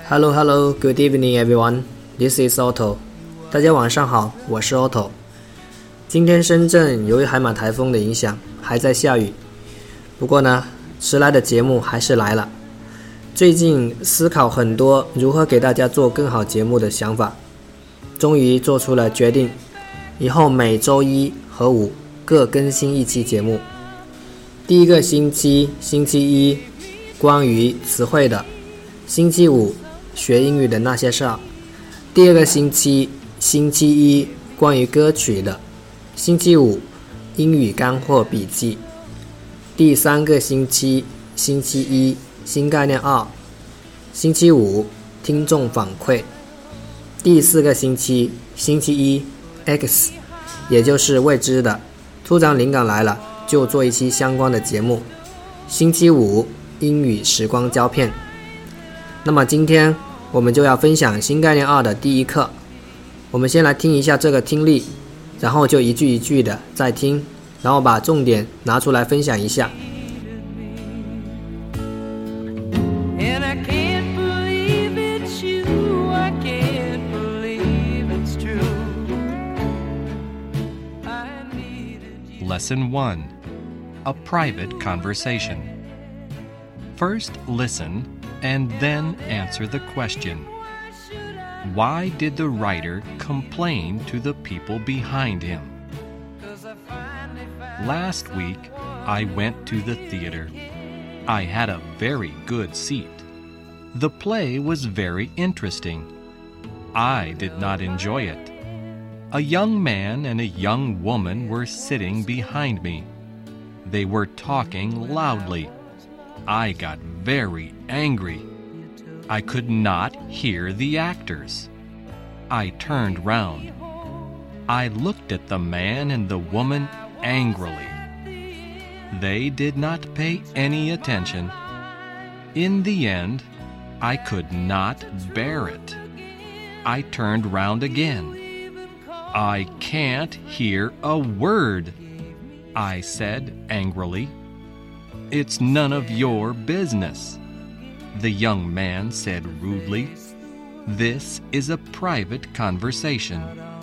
Hello, good evening everyone. This is Otto. 大家晚上好，我是 Otto。今天深圳由于海马台风的影响还在下雨，不过呢，迟来的节目还是来了。最近思考很多如何给大家做更好节目的想法，终于做出了决定，以后每周一和五各更新一期节目。第一个星期一关于词汇的，星期五学英语的那些事儿。第二个星期一关于歌曲的，星期五英语干货笔记。第三个星期一新概念2，星期五听众反馈。第四个星期一 X， 也就是未知的，突然灵感来了就做一期相关的节目。星期五英语时光胶片。那么今天我们就要分享新概念2的第一课。我们先来听一下这个听力，然后就一句一句的再听，然后把重点拿出来分享一下。 Lesson 1. A private conversation. First listen and then answer the question. Why did the writer complain to the people behind him? Last week, I went to the theater. I had a very good seat. The play was very interesting. I did not enjoy it. A young man and a young woman were sitting behind me. They were talking loudly. I got very angry. I could not hear the actors. I turned round. I looked at the man and the woman angrily. They did not pay any attention. In the end, I could not bear it. I turned round again. I can't hear a word, I said angrily. It's none of your business, the young man said rudely. This is a private conversation.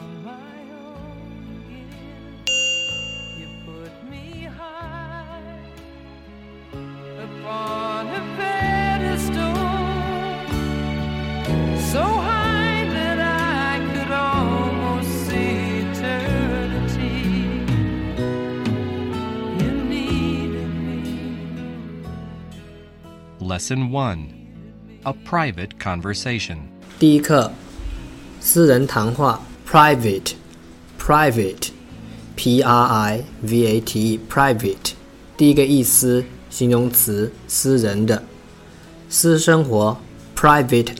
Lesson 1. A private conversation. 第一课，私人谈话 private P-R-I-V-A-T-E private 第一个意思，形容词，私人的。私生活 private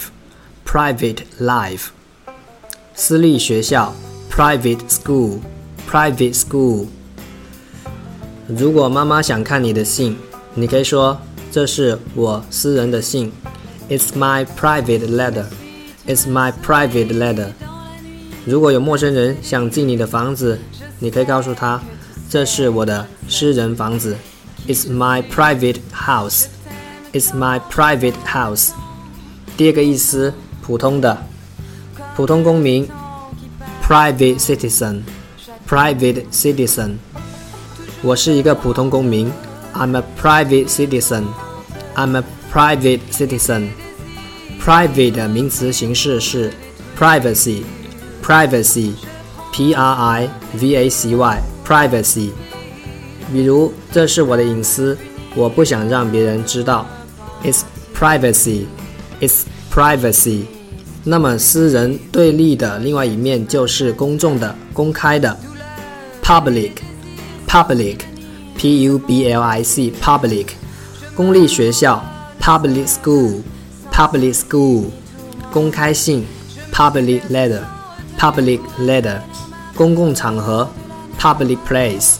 life 私立学校 private school 如果妈妈想看你的信，你可以说这是我私人的信 It's my private letter 如果有陌生人想进你的房子，你可以告诉他这是我的私人房子 It's my private house 第二个意思，普通的，普通公民 private citizen 我是一个普通公民I'm a private citizen. Private 的名词形式是 privacy P-R-I-V-A-C-Y privacy 比如这是我的隐私，我不想让别人知道 It's privacy 那么私人对立的另外一面就是公众的，公开的 public P-U-B-L-I-C public 公立学校 public school 公开信 public letter 公共场合 public place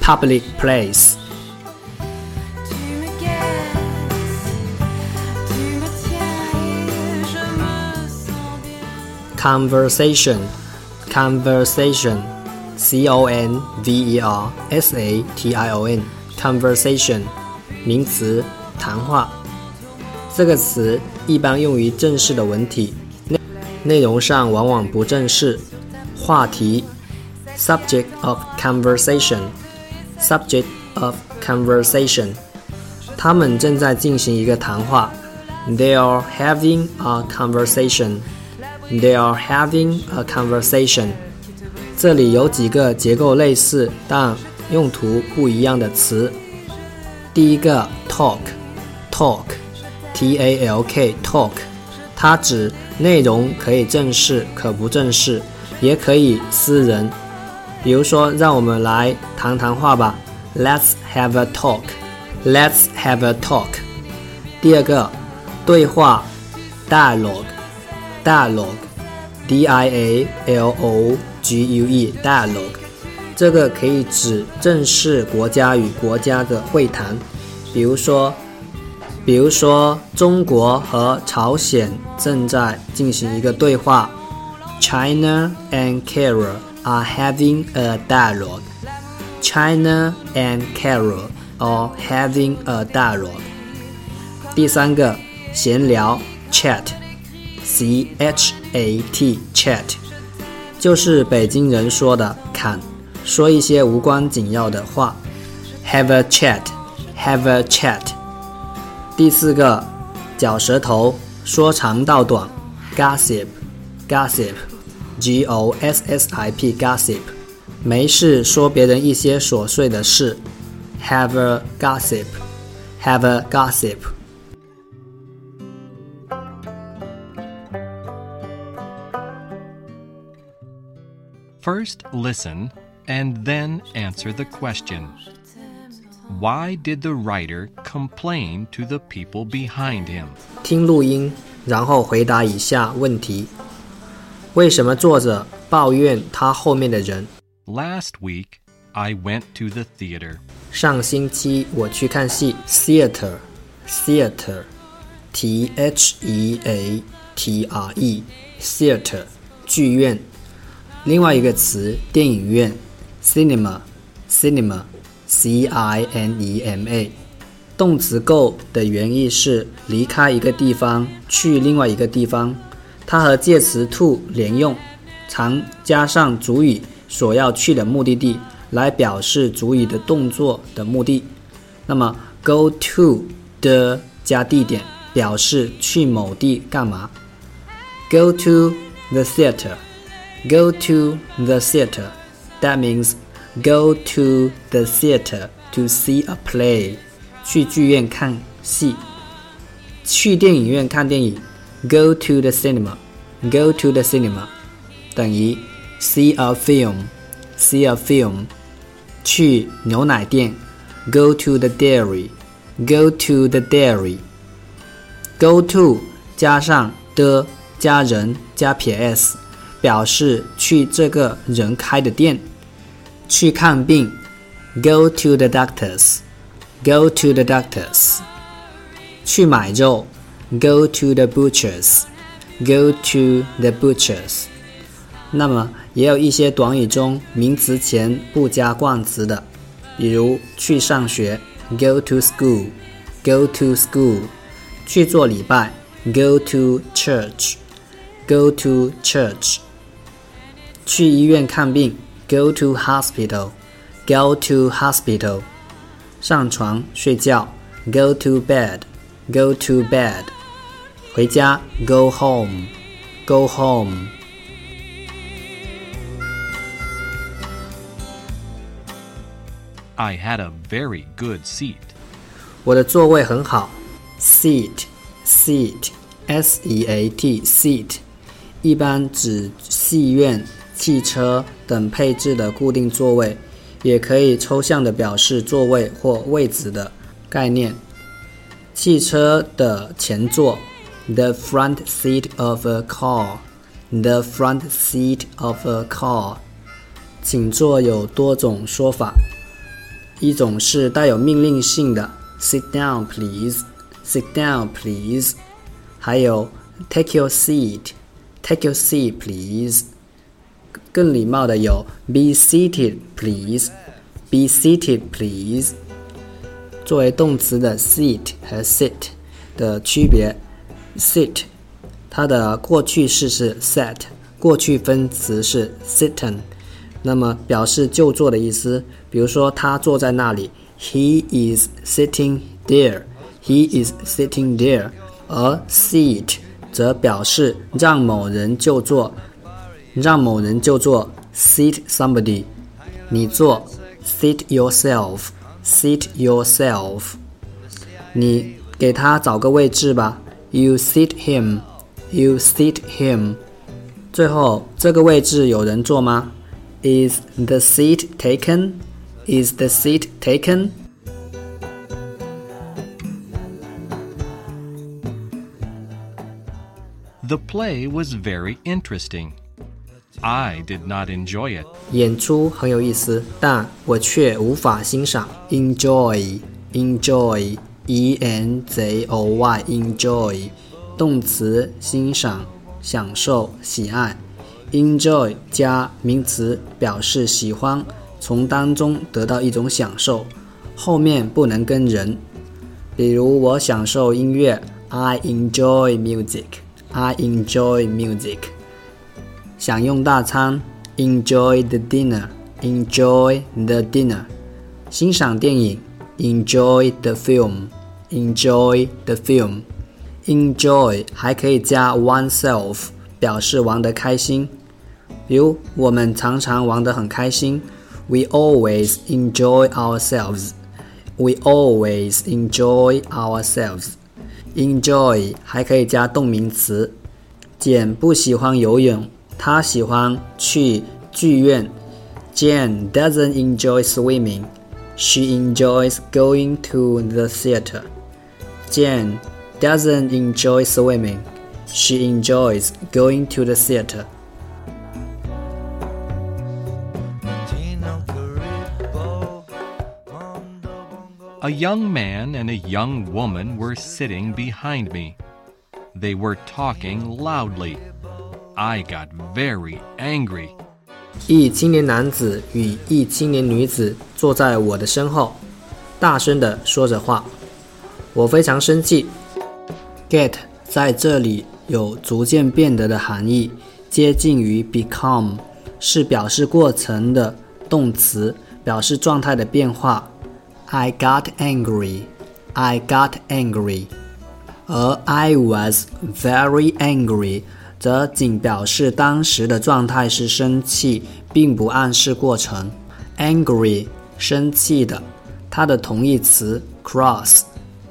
conversation conversation conversation 名词，谈话。 这个词一般用于正式的文体，内容上往往不正式。话题 subject of conversation， subject of conversation， 他们正在进行一个谈话。They are having a conversation. They are having a conversation. 这里有几个结构类似但用途不一样的词。第一个 talk T-A-L-K talk， 它指内容可以正式可不正式，也可以私人。比如说让我们来谈谈话吧， Let's have a talk. Let's have a talk. 第二个对话 dialogue D-I-A-L-O-G-U-E dialogue， 这个可以指正式国家与国家的会谈。比如说中国和朝鲜正在进行一个对话， China and Korea are having a dialogue. China and Korea are having a dialogue. 第三个闲聊 chat C-H-A-T chat， 就是北京人说的侃，说一些无关紧要的話 have a chat。 第四个嚼舌头说长道短 gossip G-O-S-S-I-P gossip， 没事说别人一些琐碎的事 have a gossip。 First listen and then answer the question. Why did the writer complain to the people behind him? 听录音，然后回答以下问题。为什么作者抱怨他后面的人？ Last week, I went to the theater. 上星期我去看戏 theater T-H-E-A-T-R-E theater 剧院。另外一个词电影院 cinema C-I-N-E-M-A， 动词 go 的原意是离开一个地方去另外一个地方，它和介词 to 连用，常加上主语所要去的目的地来表示主语的动作的目的。那么 go to 的加地点表示去某地干嘛。 Go to the theater. Go to the theater. That means go to the theater to see a play. 去剧院看戏。去电影院看电影 Go to the cinema. Go to the cinema 等于 see a film. 去牛奶店 Go to the dairy. Go to the dairy. Go to 加上的加人加撇 s， 表示去这个人开的店。去看病 Go to the doctors. Go to the doctors. 去买肉 Go to the butchers. Go to the butchers. 那么也有一些短语中名词前不加冠词的，比如去上学 Go to school. Go to school. 去做礼拜 Go to church. Go to church. 去医院看病 Go to hospital. Go to hospital. 上床睡觉 Go to bed. Go to bed. 回家 Go home. Go home. I had a very good seat. 我的座位很好 Seat S-E-A-T seat 一般指戏院、汽车等配置的固定座位，也可以抽象地表示座位或位子的概念。汽车的前座 The front seat of a car. The front seat of a car. 请坐有多种说法，一种是带有命令性的 Sit down please. Sit down please. 还有 Take your seat. Take your seat please. 更礼貌的有 Be seated please. Be seated please. 作为动词的 seat 和 sit 的区别。sit 它的过去式是 sat， 过去分词是 sitten， 那么表示就坐的意思，比如说他坐在那里， he is sitting there， he is sitting there。 而 sit 则表示让某人就坐，让某人就坐 sit somebody， 你坐 sit yourself， sit yourself， 你给他找个位置吧， you sit him， you sit him。 最后这个位置有人坐吗？ Is the seat taken？ Is the seat taken？ The play was very interesting. I did not enjoy it. 演出很有意思，但我却无法欣赏。 Enjoy enjoy E-N-J-O-Y enjoy 动词欣赏、享受、喜爱。 Enjoy 加名词表示喜欢，从当中得到一种享受，后面不能跟人。比如我享受音乐， I enjoy music， I enjoy music。 享用大餐， enjoy the dinner， enjoy the dinner。 欣赏电影， enjoy the film， enjoy the film。 enjoy 还可以加 oneself 表示玩得开心，比如我们常常玩得很开心， We always enjoy ourselves， We always enjoy ourselves。 enjoy 还可以加动名词，简不喜欢游泳，他喜欢去剧院。 Jane doesn't enjoy swimming， She enjoys going to the theater。 Jane doesn't enjoy swimming， She enjoys going to the theater。 A young man and a young woman were sitting behind me. They were talking loudly. I got very angry. 一青年男子与一青年女子坐在我的身后，大声地说着话，我非常生气。 Get 在这里有逐渐变得的含义，接近于 become， 是表示过程的动词，表示状态的变化。 I got angry， I got angry。 而 I was very angry 则仅表示当时的状态是生气，并不暗示过程。 Angry 生气的，它的同义词 cross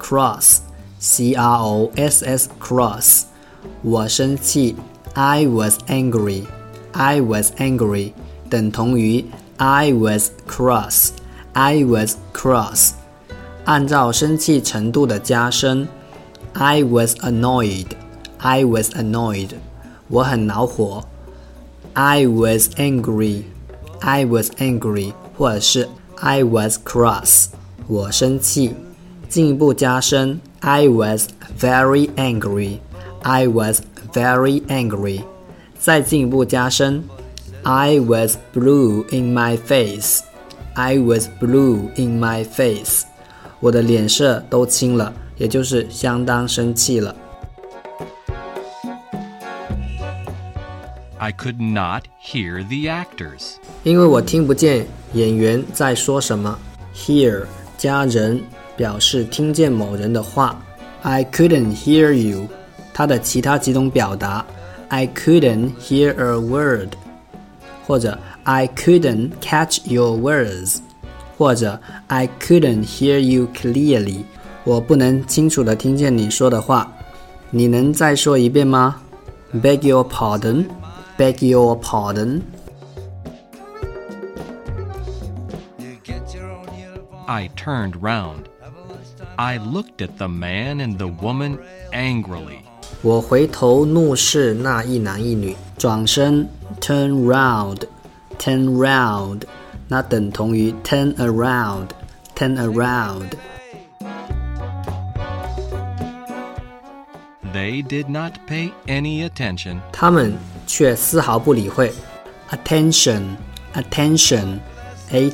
C-R-O-S-S cross， 我生气 I was angry， I was angry 等同于 I was cross， I was cross。 按照生气程度的加深， I was annoyed， I was annoyed 我很恼火。 I was angry， I was angry 或者是 I was cross 我生气。进一步加深， I was very angry， I was very angry 再进一步加深， I was blue in my face， I was blue in my face 我的脸色都青了，也就是相当生气了。 I could not hear the actors. 因为我听不见演员在说什么。 Hear 加人表示听见某人的话。 I couldn't hear you 它的其他几种表达， I couldn't hear a word 或者 I couldn't catch your words 或者 I couldn't hear you clearly 我不能清楚地听见你说的话。你能再说一遍吗？ Beg your pardon， Beg your pardon。 I turned round. I looked at the man and the woman angrily. 我回头怒视那一男一女，转身 turn round， turn round 那等同于 turn around， turn around。 They did not pay any attention. 他们却丝毫不理会。 attention attention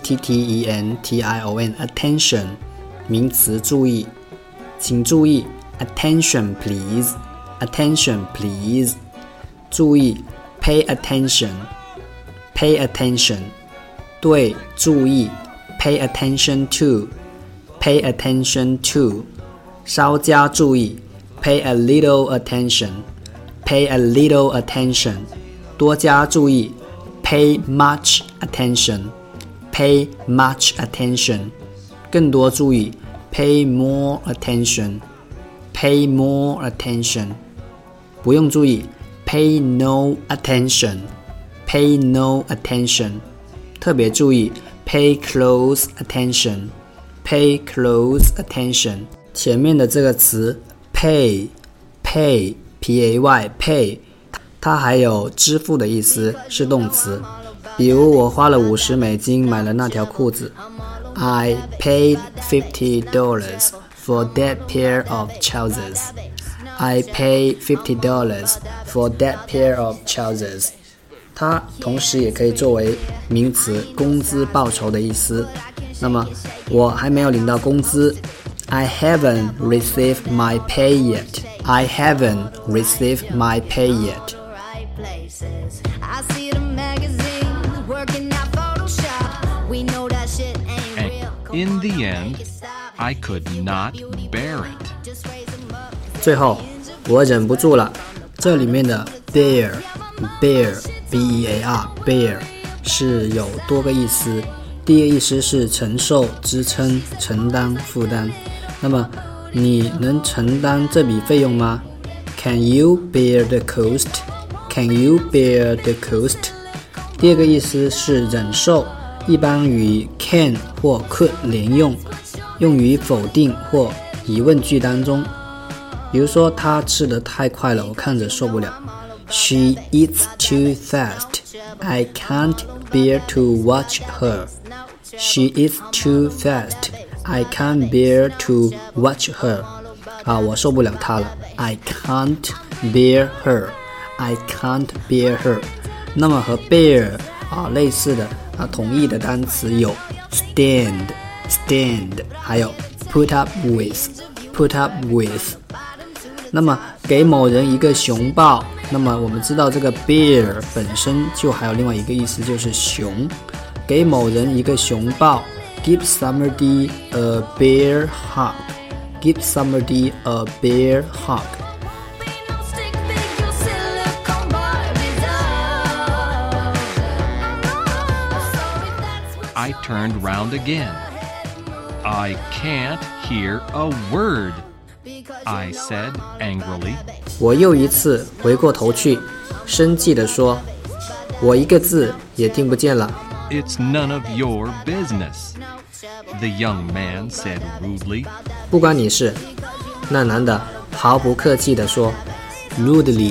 A-T-T-E-N-T-I-O-N attention 名词注意，请注意 Attention please. Attention please. 注意 Pay attention. Pay attention. 对，注意 Pay attention to. Pay attention to. 稍加注意 Pay a little attention. Pay a little attention. 多加注意 Pay much attention. Pay much attention. 更多注意 Pay more attention. Pay more attention. 不用注意 Pay no attention. Pay no attention. 特别注意 Pay close attention. Pay close attention. 前面的这个词 Pay P-A-Y Pay 它还有支付的意思，是动词。比如我花了50美金买了那条裤子。I paid $50 for that pair of trousers. I paid $50 for that pair of trousers. 它同时也可以作为名词，工资报酬的意思。那么我还没有领到工资。I haven't received my pay yet. I haven't received my pay yet. And in the end, I could not bear it. 最后，我忍不住了。这里面的 bear B-E-A-R bear 是有多个意思。第一个意思是承受、支撑、承担、负担。那么你能承担这笔费用吗？ Can you bear the cost? Can you bear the cost? 第二个意思是忍受，一般与 can 或 could 连用，用于否定或疑问句当中。比如说，她吃得太快了，我看着受不了。She eats too fast. I can't bear to watch her. She eats too fast. I can't bear to watch her. 我受不了她了。I can't bear her. I can't bear her. 那么和 bear 类似的同义的单词有 stand,还有 put up with. 那么给某人一个熊抱，那么我们知道这个 bear 本身就还有另外一个意思，就是熊。给某人一个熊抱 Give somebody a bear hug. Give somebody a bear hug. I turned round again. I can't hear a word, I said angrily. 我又一次回过头去，生气地说，我一个字也听不见了。 It's none of your business, the young man said rudely. 不关你事，那男的毫不客气地说。Rudely,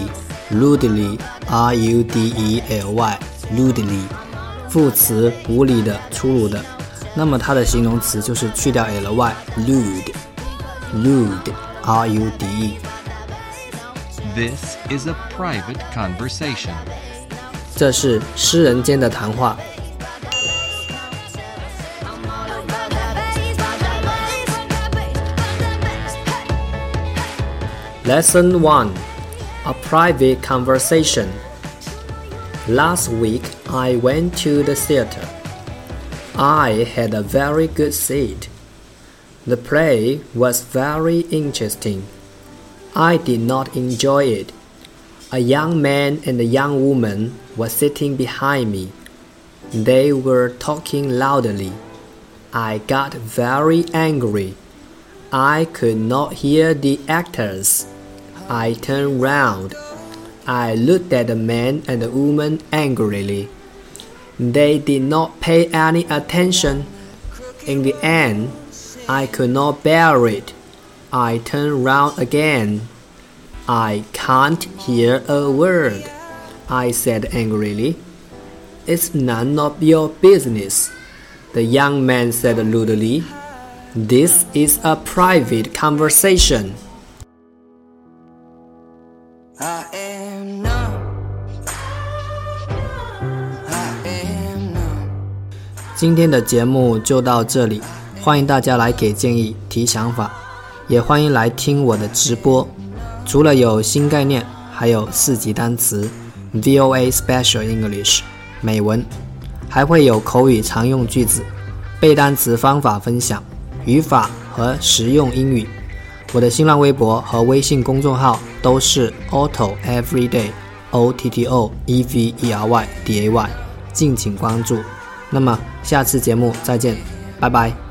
R-U-D-E-L-Y, rudely. 副词无理的、粗鲁的，那么它的形容词就是去掉 ly, rude, R-U-D-E. This is a private conversation. 这是私人间的谈话。Lesson 1. A private conversation. Last week, I went to the theater. I had a very good seat. The play was very interesting. I did not enjoy it. A young man and a young woman were sitting behind me. They were talking loudly. I got very angry. I could not hear the actors. I turned round. I looked at the man and the woman angrily. They did not pay any attention. In the end, I could not bear it. I turned round again. I can't hear a word, I said angrily. It's none of your business, the young man said rudely. This is a private conversation. I am numb. I am numb. 今天的节目就到这里，欢迎大家来给建议、提想法。 也欢迎来听我的直播。除了有新概念，还有4级单词 VOA Special English 美文，还会有口语常用句子、背单词方法分享、语法和实用英语。我的新浪微博和微信公众号都是 Otto Everyday OTTOEVERYDAY， 敬请关注。那么下次节目再见，拜拜。